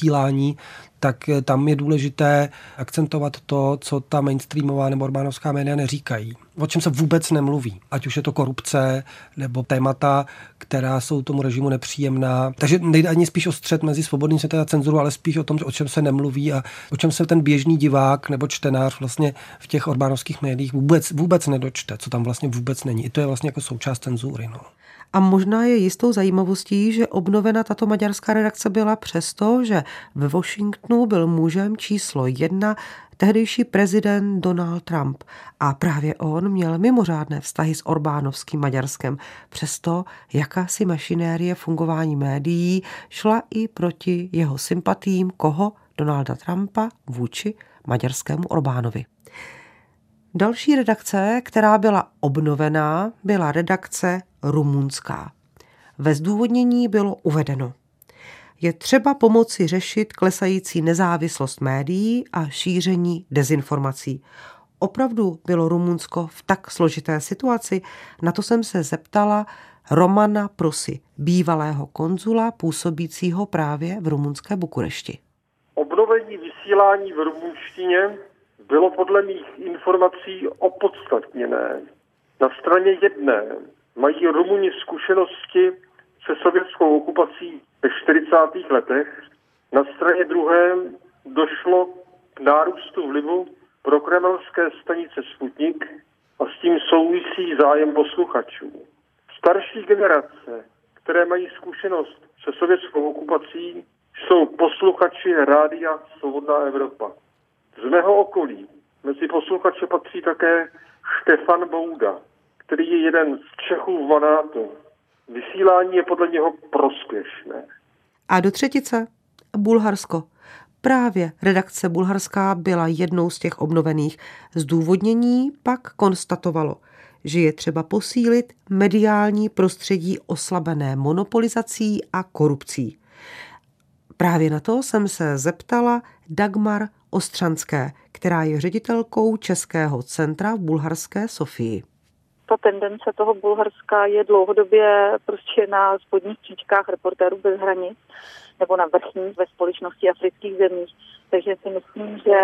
vysílání, tak tam je důležité akcentovat to, co ta mainstreamová nebo orbánovská média neříkají. O čem se vůbec nemluví. Ať už je to korupce nebo témata, která jsou tomu režimu nepříjemná. Takže nejde ani spíš o střet mezi svobodným světem a cenzurou, ale spíš o tom, o čem se nemluví a o čem se ten běžný divák nebo čtenář vlastně v těch orbánovských médiích vůbec, vůbec nedočte, co tam vlastně vůbec není. I to je vlastně jako součást cenzury. No. A možná je jistou zajímavostí, že obnovena tato maďarská redakce byla přesto, že ve Washingtonu byl mužem číslo jedna tehdejší prezident Donald Trump. A právě on měl mimořádné vztahy s orbánovským Maďarskem. Přesto jakási mašinérie fungování médií šla i proti jeho sympatím koho? Donalda Trumpa vůči maďarskému Orbánovi. Další redakce, která byla obnovená, byla redakce rumunská. Ve zdůvodnění bylo uvedeno: je třeba pomoci řešit klesající nezávislost médií a šíření dezinformací. Opravdu bylo Rumunsko v tak složité situaci? Na to jsem se zeptala Romana Prosy, bývalého konzula působícího právě v rumunské Bukurešti. Obnovení vysílání v rumunštině bylo podle mých informací opodstatněné. Na straně jedné mají Rumuni zkušenosti se sovětskou okupací ve čtyřicátých letech. Na straně druhé došlo k nárůstu vlivu prokremelské stanice Sputnik a s tím souvisí zájem posluchačů. Starší generace, které mají zkušenost se sovětskou okupací, jsou posluchači Rádia Svobodná Evropa. Z mého okolí mezi posluchače patří také Štefan Bouda, který je jeden z Čechů v Manátu. Vysílání je podle něho prospěšné. A do třetice Bulharsko. Právě redakce bulharská byla jednou z těch obnovených. Zdůvodnění pak konstatovalo, že je třeba posílit mediální prostředí oslabené monopolizací a korupcí. Právě na to jsem se zeptala Dagmar Ostřanské, která je ředitelkou Českého centra v bulharské Sofii. Ta tendence toho Bulharska je dlouhodobě prostě na spodních příčkách Reportérů bez hranic nebo na vrchních ve společnosti afrických zemí. Takže si myslím, že,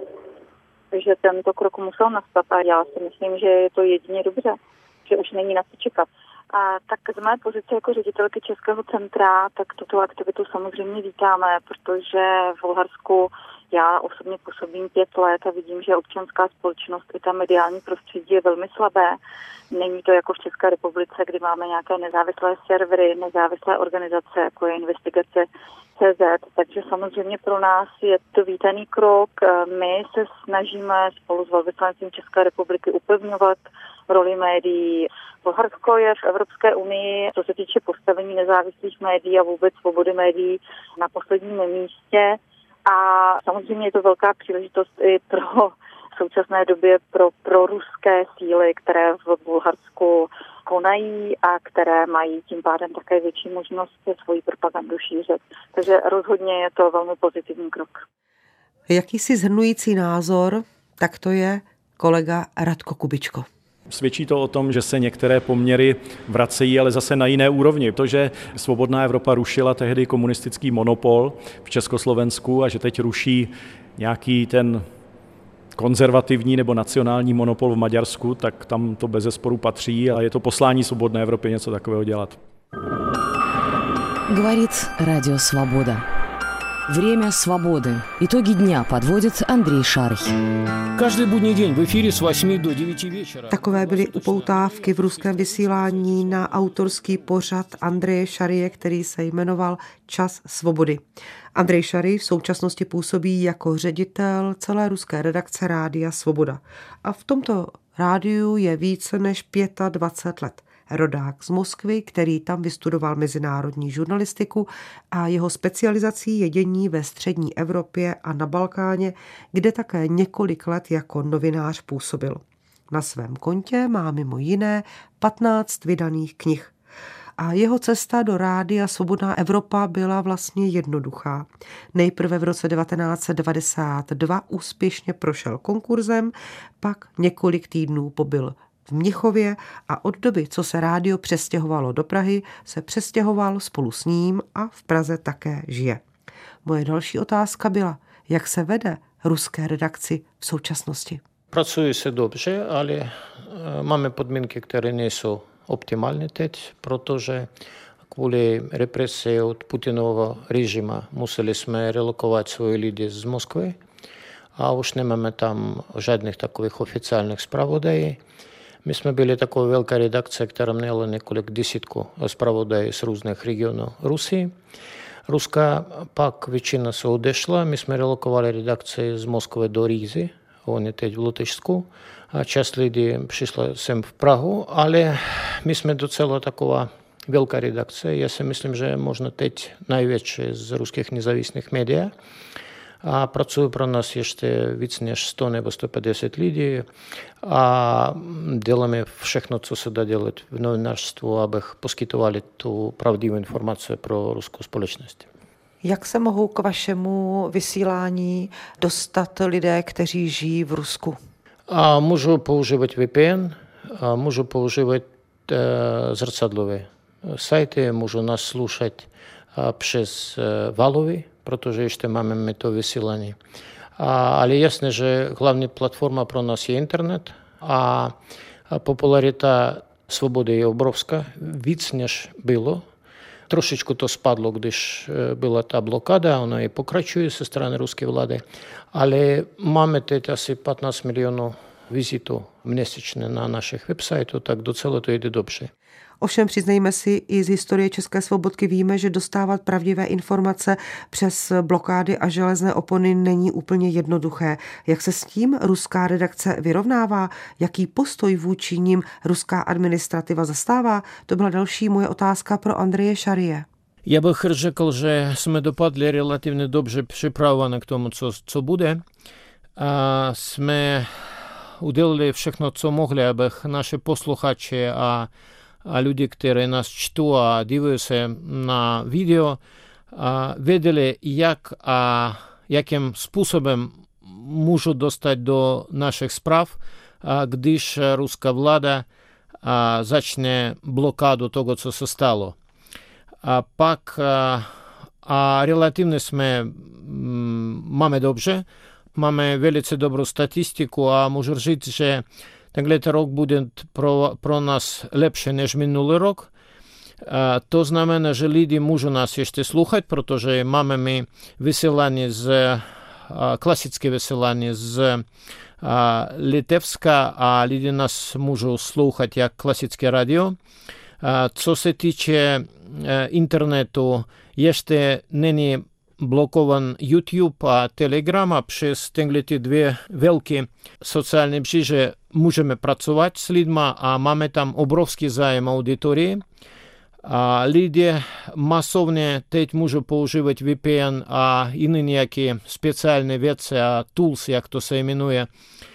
že tento krok musel nastat a já si myslím, že je to jedině dobře, že už není na co čekat. A tak z mé pozice jako ředitelky Českého centra, tak tuto aktivitu samozřejmě vítáme, protože v Bulharsku já osobně působím pět let a vidím, že občanská společnost i ta mediální prostředí je velmi slabé. Není to jako v České republice, kdy máme nějaké nezávislé servery, nezávislé organizace, jako je Investigace tečka cé zet, takže samozřejmě pro nás je to vítaný krok. My se snažíme spolu s velvyslancem České republiky upevňovat roli médií. Bulharsko je v Evropské unii, co se týče postavení nezávislých médií a vůbec svobody médií, na posledním místě. A samozřejmě je to velká příležitost i pro v současné době pro, pro ruské síly, které v Bulharsku konají a které mají tím pádem také větší možnost svoji propagandu šířit. Takže rozhodně je to velmi pozitivní krok. Jakýsi shrnující názor, tak to je kolega Radko Kubičko. Svědčí to o tom, že se některé poměry vracejí, ale zase na jiné úrovni. To, že Svobodná Evropa rušila tehdy komunistický monopol v Československu a že teď ruší nějaký ten konzervativní nebo nacionální monopol v Maďarsku, tak tam to bezesporu patří a je to poslání Svobodné Evropy něco takového dělat. Говорит Радио Свобода. Время свободы. Итоги дня подводит Андрей Шарх. Každý budní den v efíru z osmi do devíti večera. Takové byly upoutávky v ruském vysílání na autorský pořad Andreje Šarie, který se jmenoval Čas svobody. Andrej Šary v současnosti působí jako ředitel celé ruské redakce Rádia Svoboda. A v tomto rádiu je více než dvacet pět let. Rodák z Moskvy, který tam vystudoval mezinárodní žurnalistiku a jeho specializací je dění ve střední Evropě a na Balkáně, kde také několik let jako novinář působil. Na svém kontě má mimo jiné patnáct vydaných knih. A jeho cesta do Rádia Svobodná Evropa byla vlastně jednoduchá. Nejprve v roce devatenáct set devadesát dva úspěšně prošel konkurzem, pak několik týdnů pobyl v Mnichově a od doby, co se rádio přestěhovalo do Prahy, se přestěhoval spolu s ním a v Praze také žije. Moje další otázka byla, jak se vede ruské redakci v současnosti. Pracuje se dobře, ale máme podmínky, které nejsou optimální teď, protože kvůli represii od Putinového režimu museli jsme relokovat svoje lidi z Moskvy a už nemáme tam žádných takových oficiálních zpravodajů. My jsme byli taková velká redakce, která měla několik desítků zpravodajů z různých regionů Rusy. Ruska pak většina se odešla, my jsme relokovali redakci z Moskvy do Rizy, oni teď v Lotyšsku. A část lidí přišla sem v Prahu, ale my jsme docela taková velká redakce. Já si myslím, že možná teď největší z ruských nezávislých médií. A pracuje pro nás ještě víc než sto nebo sto padesát lidí. A děláme všechno, co se dá dělat v novinářství, abych poskytovali tu pravdivou informaci pro ruskou společnost. Jak se mohou k vašemu vysílání dostat lidé, kteří žijí v Rusku? A můžu používat V P N, a můžu používat e, zrcadlové sajty, můžu nás slušat e, přes e, Valovy, protože ještě máme to vysílání. A, ale jasně, že hlavní platforma pro nás je internet a, a popularita svobody je obrovská, víc než bylo. Trošičku to spadlo, když byla ta blokáda, ona i pokračuje ze strany ruské vlády, ale máme teď asi patnáct milionů vizitů měsíčně na našich websajtů, tak docela to jde dobře. Ovšem přiznejme si, i z historie České svobodky víme, že dostávat pravdivé informace přes blokády a železné opony není úplně jednoduché. Jak se s tím ruská redakce vyrovnává? Jaký postoj vůči nim ruská administrativa zastává? To byla další moje otázka pro Andreje Šarije. Já bych řekl, že jsme dopadli relativně dobře připravované k tomu, co, co bude. A jsme udělali všechno, co mohli, abych naše posluchači a a lidi, kteří nás čtou a dívají se na video, věděli, jak a jakým způsobem můžu dostat do našich zpráv, když ruská vláda začne blokádu toho, co se stalo. A pak a relativně jsme máme dobře, máme velice dobrou statistiku a můžu říct, že tenhle rok bude pro, pro nás lepší než minulý rok. A to znamená, že lidi můžou nás ještě sluchat, protože máme my vysílání z, klasické vysílání z Litevska a lidi nás můžou sluchat jak klasické radio. A co se týče internetu, ještě není blokovan YouTube a Telegram a přes tyhle dvě velké sociální mříže můžeme pracovat s lidmi a máme tam obrovský zájem auditorii. A lidé masovně teď můžou používat V P N a jiné nějaké speciální věci a tools, jak to se jmenuje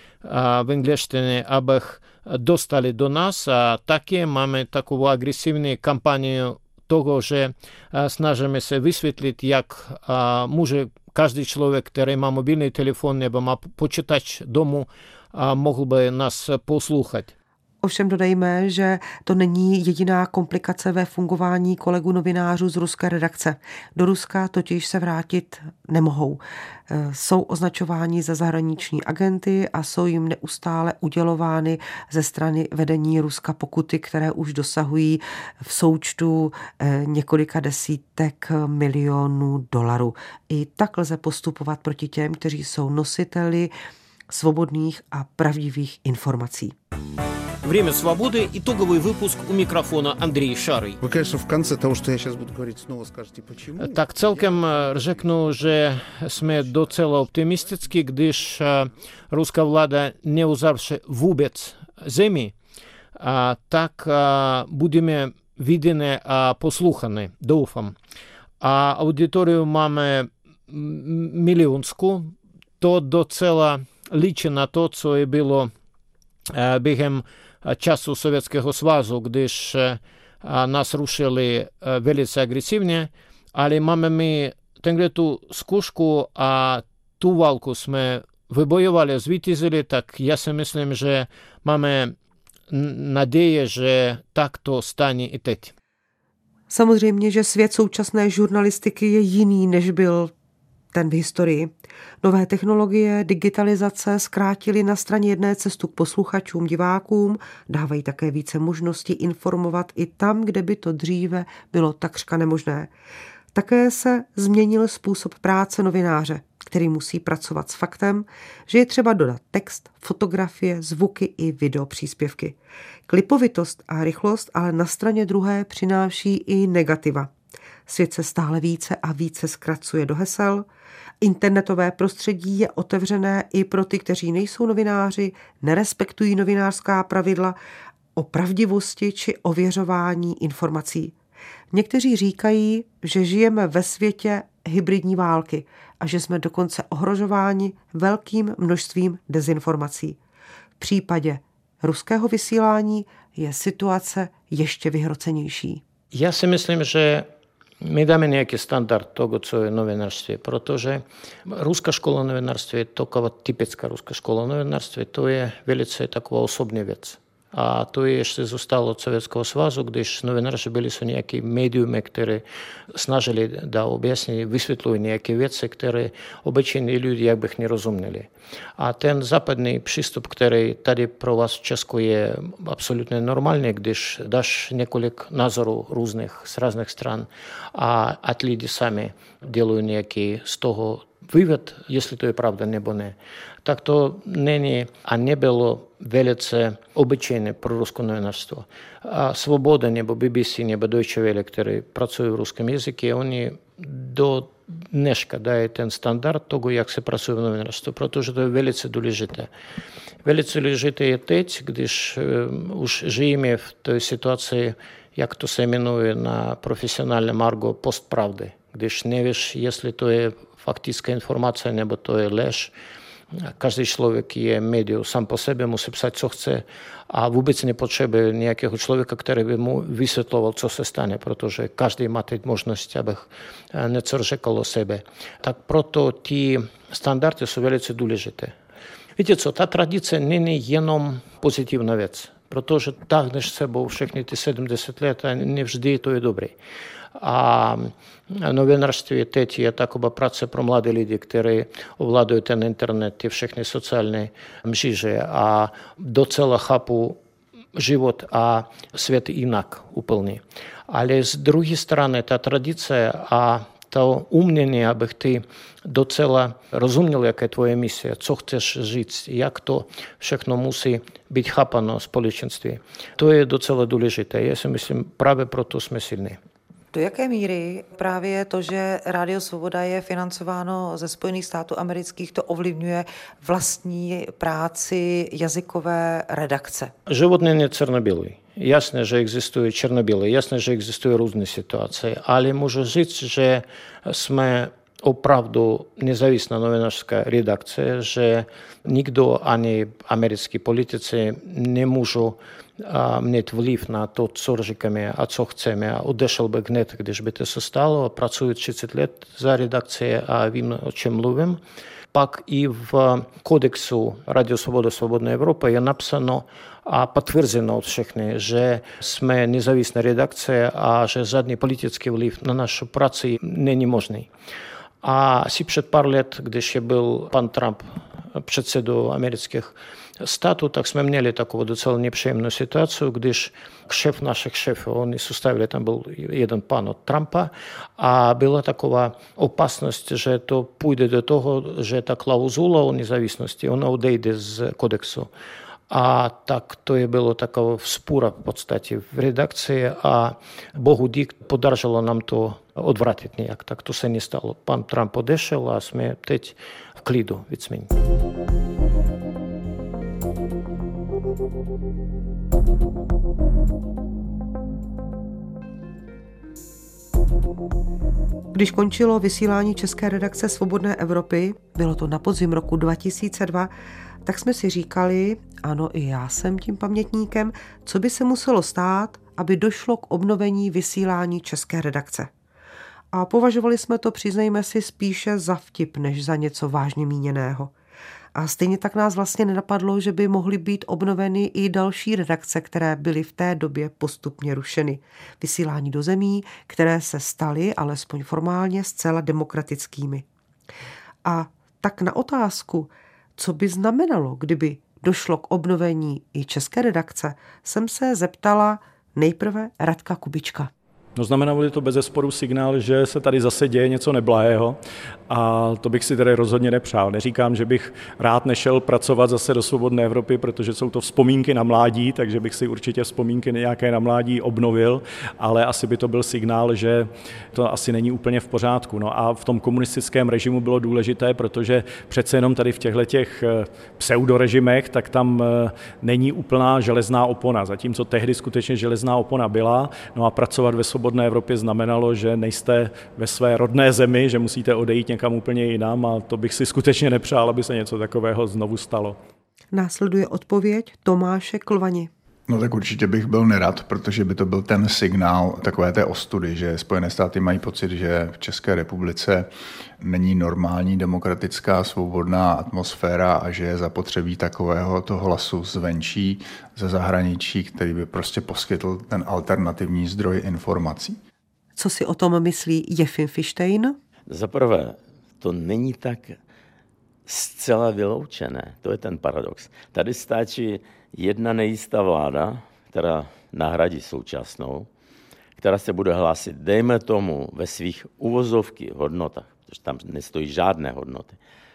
v angličtině, abych dostali do nás. A taky máme takovou agresivní kampanii toho, že snažíme se vysvětlit, jak může každý člověk, který má mobilní telefon nebo má počítač domu, mohl by nás poslouchat. Ovšem dodejme, že to není jediná komplikace ve fungování kolegů novinářů z ruské redakce. Do Ruska totiž se vrátit nemohou. Jsou označováni za zahraniční agenty a jsou jim neustále udělovány ze strany vedení Ruska pokuty, které už dosahují v součtu několika desítek milionů dolarů. I tak lze postupovat proti těm, kteří jsou nositeli svobodných a pravdivých informací. Время свободы. Итоговый выпуск у микрофона Андрей Шарый. Вы, конечно, в конце того, что я сейчас буду говорить, снова скажете, почему. Tak celkem řeknu, že jsme docela optimisticky, když ruská vláda neuzavře vůbec zemi, tak budeme viděni a poslouchaní, doufám. A auditorium máme milionskou, to docela ličí na to, co je bylo během času Sovětského svazu, když nás rušili velice agresivně, ale máme my tenhle tu zkušku a tu válku jsme vybojovali, zvítězili, tak já si myslím, že máme naděje, že tak to stane i teď. Samozřejmě, že svět současné žurnalistiky je jiný, než byl ten v historii. Nové technologie, digitalizace zkrátily na straně jedné cestu k posluchačům, divákům, dávají také více možností informovat i tam, kde by to dříve bylo takřka nemožné. Také se změnil způsob práce novináře, který musí pracovat s faktem, že je třeba dodat text, fotografie, zvuky i videopříspěvky. Klipovitost a rychlost ale na straně druhé přináší i negativa. Svět se stále více a více zkracuje do hesel. Internetové prostředí je otevřené i pro ty, kteří nejsou novináři, nerespektují novinářská pravidla o pravdivosti či ověřování informací. Někteří říkají, že žijeme ve světě hybridní války a že jsme dokonce ohrožováni velkým množstvím dezinformací. V případě ruského vysílání je situace ještě vyhrocenější. Já si myslím, že my dáme nějaký standard toho, co je novinářství, protože ruská škola novinářství je taková typická ruská škola novinářství, to je velice taková osobní věc. A to ještě zůstalo od Sovětského svazu, když novináři byli jsou nějaké médiumy, které snažili da objasnit, vysvětlují nějaké věci, které obyčejní lidi jak bych nerozuměli. A ten západní přístup, který tady pro vás v Česku je absolutně normální, když dáš několik názorů různých z různých stran a, a lidi sami dělají nějaký z toho vývod, jestli to je pravda nebo ne, tak to není a nebylo velice obyčejné pro ruské novinářstvo. A Svoboda nebo B B C nebo Deutsche Welle, které pracují v ruském jazyce, oni do dneška dají ten standard toho, jak se pracuje v novinářství, protože to je velice důležité. Velice důležité je teď, když uh, už žijeme v té situaci, jak to se jmenuje na profesionálním argo postpravdy, když nevíš, jestli to je faktická informace nebo to je lež. Každý člověk je médium, sám po sobě musí psát, co chce a vůbec nepotřebuje nějakého člověka, který by mu vysvětloval, co se stane, protože každý má teď možnost, abych něco řekl o sebe. Tak proto ty standardy jsou velice důležité. Víte co, ta tradice není jenom pozitivní věc, protože táhneš s sebou všechny ty sedmdesát let a nevždy to je dobré. A novinářství teď je taková práce pro mladé lidi, kteří ovládají ten internet, ty všechny sociální mříže a docela chápou život a svět jinak úplně. Ale z druhé strany ta tradice a to umění, abych ty docela rozuměl, jaká je tvoje mise, co chceš říct, jak to všechno musí být chápano společenství. To je docela důležité. Já si myslím, právě proto jsme silní. Do jaké míry právě to, že Rádio Svoboda je financováno ze Spojených států amerických, to ovlivňuje vlastní práci jazykové redakce? Život není černobílý. Jasné, že existuje černobílý, jasné, že existují různé situace, ale můžu říct, že jsme opravdu nezávislá novinářská redakce, že nikdo ani americký politici nemůžou mít vliv na to, co říkáme a co chceme. A odešel bych hned, když by to se stalo. Pracuji třicet let za redakci a vím, o čem mluvím. Pak i v kodexu Radio Svoboda Svobodná Evropa je napsáno a potvrzeno od všechny, že jsme nezávislá redakce a že žádný politický vliv na naši práci není možný. A asi před pár let, když je byl pan Trump předsedou amerických států, tak jsme měli takovou docela nepříjemnou situaci, když šéf našich šéfů, oni sestavili, tam byl jeden pan od Trumpa a byla taková opasnost, že to půjde do toho, že ta klauzula o nezávislosti, ona odejde z kodexu. A tak to je bylo taková vzpůra v podstatě v redakci a bohu dík podařilo nám to odvratit nějak. Tak to se nestalo. Pan Trump odešel a jsme teď v klidu víceméně. Když končilo vysílání české redakce Svobodné Evropy, bylo to na podzim roku dva tisíce dva, tak jsme si říkali, ano, i já jsem tím pamětníkem, co by se muselo stát, aby došlo k obnovení vysílání české redakce. A považovali jsme to, přiznejme si, spíše za vtip, než za něco vážně míněného. A stejně tak nás vlastně nenapadlo, že by mohly být obnoveny i další redakce, které byly v té době postupně rušeny. Vysílání do zemí, které se staly, alespoň formálně, zcela demokratickými. A tak na otázku, co by znamenalo, kdyby došlo k obnovení i české redakce, jsem se zeptala nejprve Radka Kubička. No, znamenalo to bezesporu signál, že se tady zase děje něco neblahého a to bych si tedy rozhodně nepřál. Neříkám, že bych rád nešel pracovat zase do Svobodné Evropy, protože jsou to vzpomínky na mládí, takže bych si určitě vzpomínky nějaké na mládí obnovil, ale asi by to byl signál, že to asi není úplně v pořádku. No a v tom komunistickém režimu bylo důležité, protože přece jenom tady v těchto těch pseudorežimech, tak tam není úplná železná opona, zatímco tehdy skutečně železná opona byla, no a pracovat ve Svobodné Evropě znamenalo, že nejste ve své rodné zemi, že musíte odejít někam úplně jinam a to bych si skutečně nepřál, aby se něco takového znovu stalo. Následuje odpověď Tomáše Klvani. No tak určitě bych byl nerad, protože by to byl ten signál takové té ostudy, že Spojené státy mají pocit, že v České republice není normální demokratická svobodná atmosféra a že je zapotřebí takového toho hlasu zvenčí, ze zahraničí, který by prostě poskytl ten alternativní zdroj informací. Co si o tom myslí Jefim Fištejn? Za prvé, to není tak zcela vyloučené. To je ten paradox. Tady stačí jedna nejistá vláda, která nahradí současnou, která se bude hlásit, dejme tomu, ve svých uvozovky hodnotách, protože tam nestojí žádné hodnoty,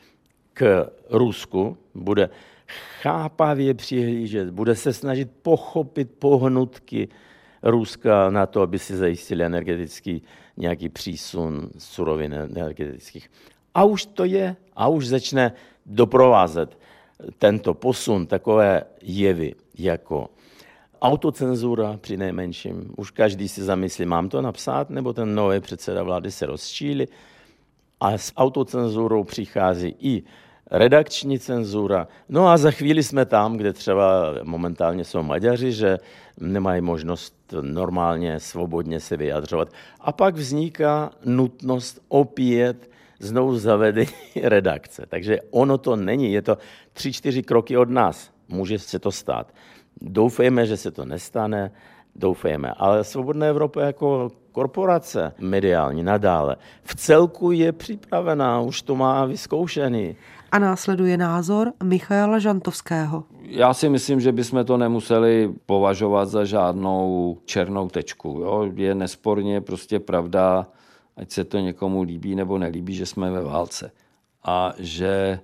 k Rusku, bude chápavě přihlížet, bude se snažit pochopit pohnutky Ruska na to, aby si zajistili energetický nějaký přísun surovin energetických. A už to je, a už začne doprovázet tento posun takové jevy jako autocenzura při nejmenším. Už každý si zamyslí, mám to napsat, nebo ten nový předseda vlády se rozčíli. A s autocenzurou přichází i redakční cenzura. No a za chvíli jsme tam, kde třeba momentálně jsou Maďaři, že nemají možnost normálně, svobodně se vyjadřovat. A pak vzniká nutnost opět znovu zavedení redakce. Takže ono to není, je to tři, čtyři kroky od nás. Může se to stát. Doufejme, že se to nestane, doufejme. Ale Svobodná Evropa jako korporace mediální nadále v celku je připravená, už to má vyzkoušený. A následuje názor Michaela Žantovského. Já si myslím, že bychom to nemuseli považovat za žádnou černou tečku. Jo? Je nesporně prostě pravda, ať se to někomu líbí nebo nelíbí, že jsme ve válce. A že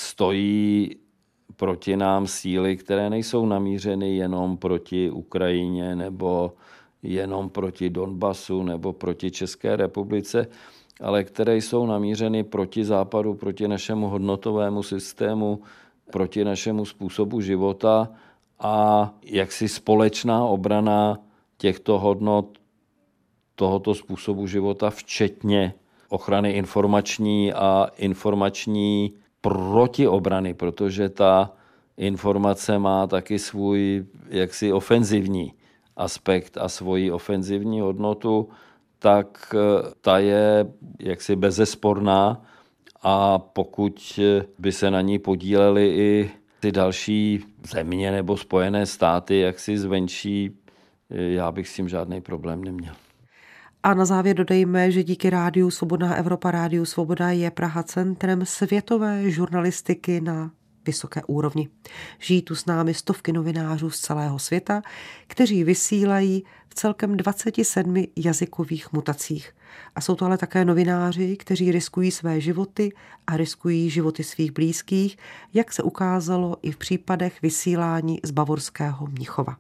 stojí proti nám síly, které nejsou namířeny jenom proti Ukrajině nebo jenom proti Donbasu nebo proti České republice, ale které jsou namířeny proti Západu, proti našemu hodnotovému systému, proti našemu způsobu života a jaksi společná obrana těchto hodnot, tohoto způsobu života, včetně ochrany informační a informační protiobrany, protože ta informace má taky svůj jaksi ofenzivní aspekt a svoji ofenzivní hodnotu, tak ta je jaksi bezesporná a pokud by se na ní podílely i ty další země nebo Spojené státy, jaksi zvenčí, já bych s tím žádný problém neměl. A na závěr dodejme, že díky Rádiu Svobodná Evropa, Rádiu Svoboda je Praha centrem světové žurnalistiky na vysoké úrovni. Žijí tu s námi stovky novinářů z celého světa, kteří vysílají v celkem dvaceti sedmi jazykových mutacích. A jsou to ale také novináři, kteří riskují své životy a riskují životy svých blízkých, jak se ukázalo i v případech vysílání z bavorského Mnichova.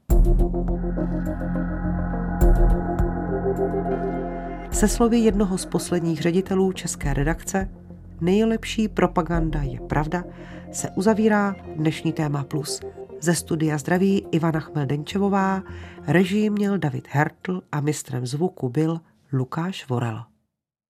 Se slovy jednoho z posledních ředitelů české redakce, nejlepší propaganda je pravda, se uzavírá dnešní Téma Plus. Ze studia zdraví Ivana Chmeldenčevová, režii měl David Hertl a mistrem zvuku byl Lukáš Vorel.